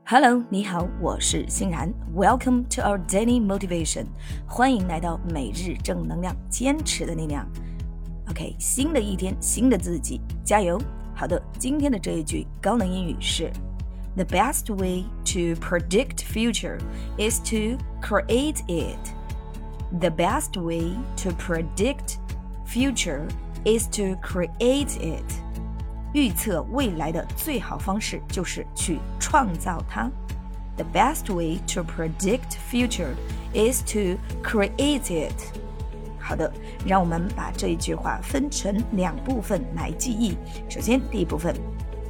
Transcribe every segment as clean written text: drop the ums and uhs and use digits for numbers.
Hello， 你好，我是欣然。Welcome to our daily motivation， 欢迎来到每日正能量，坚持的力量。OK， 新的一天，新的自己，加油！好的，今天的这一句高能英语是 The best way to predict future is to create it. The best way to predict future is to create it.预测未来的最好方式就是去创造它。The best way to predict future is to create it. 好的，让我们把这一句话分成两部分来记忆。首先，第一部分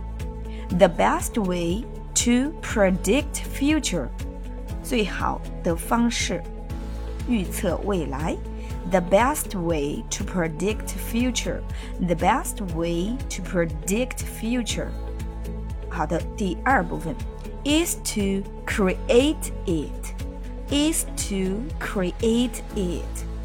The best way to predict future 最好的方式预测未来。The best way to predict future. The best way to predict future. 好的，第二部分 is to create it. Is to create it.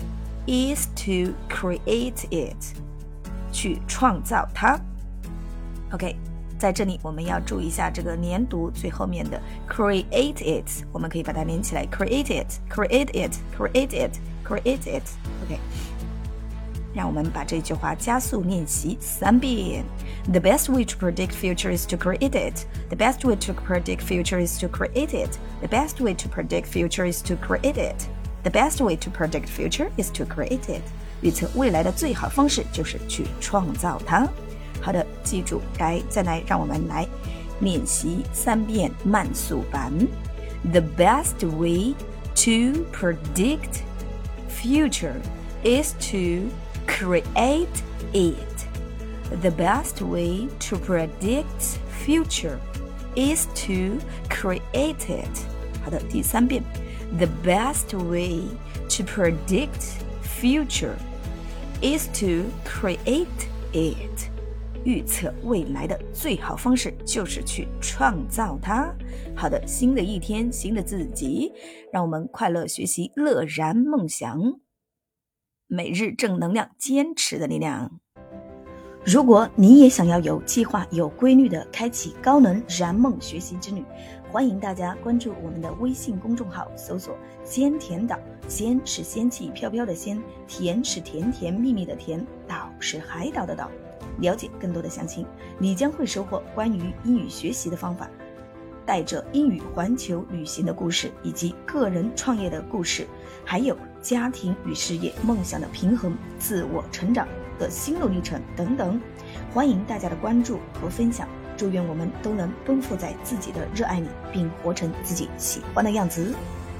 Is to create it. 去创造它。OK， 在这里我们要注意一下这个连读最后面的 create it， 我们可以把它连起来 create it, create it, create it.Create it. OK， 让我们把这句话加速练习3遍。The best way to predict future is to create it. The best way to predict future is to create it. The best way to predict future is to create it. The best way to predict future is to create it. 预测未来的最好方式就是去创造它。好的，记住，再来，让我们来练习3遍慢速版。The best way to predict future is to create it. The best way to predict future is to create it. 好的，第3遍。The best way to predict future is to create it. 预测未来的最好方式就是去创造它。好的，新的一天，新的自己，让我们快乐学习，乐然梦想。每日正能量，坚持的力量。如果你也想要有计划、有规律的开启高能燃梦学习之旅，欢迎大家关注我们的微信公众号，搜索鲜甜岛。鲜是仙气飘飘的鲜，甜是甜甜蜜蜜的甜，岛是海岛的岛。了解更多的详情，你将会收获关于英语学习的方法，带着英语环球旅行的故事，以及个人创业的故事，还有家庭与事业梦想的平衡，自我成长的心路历程等等。欢迎大家的关注和分享，祝愿我们都能奔赴在自己的热爱里，并活成自己喜欢的样子。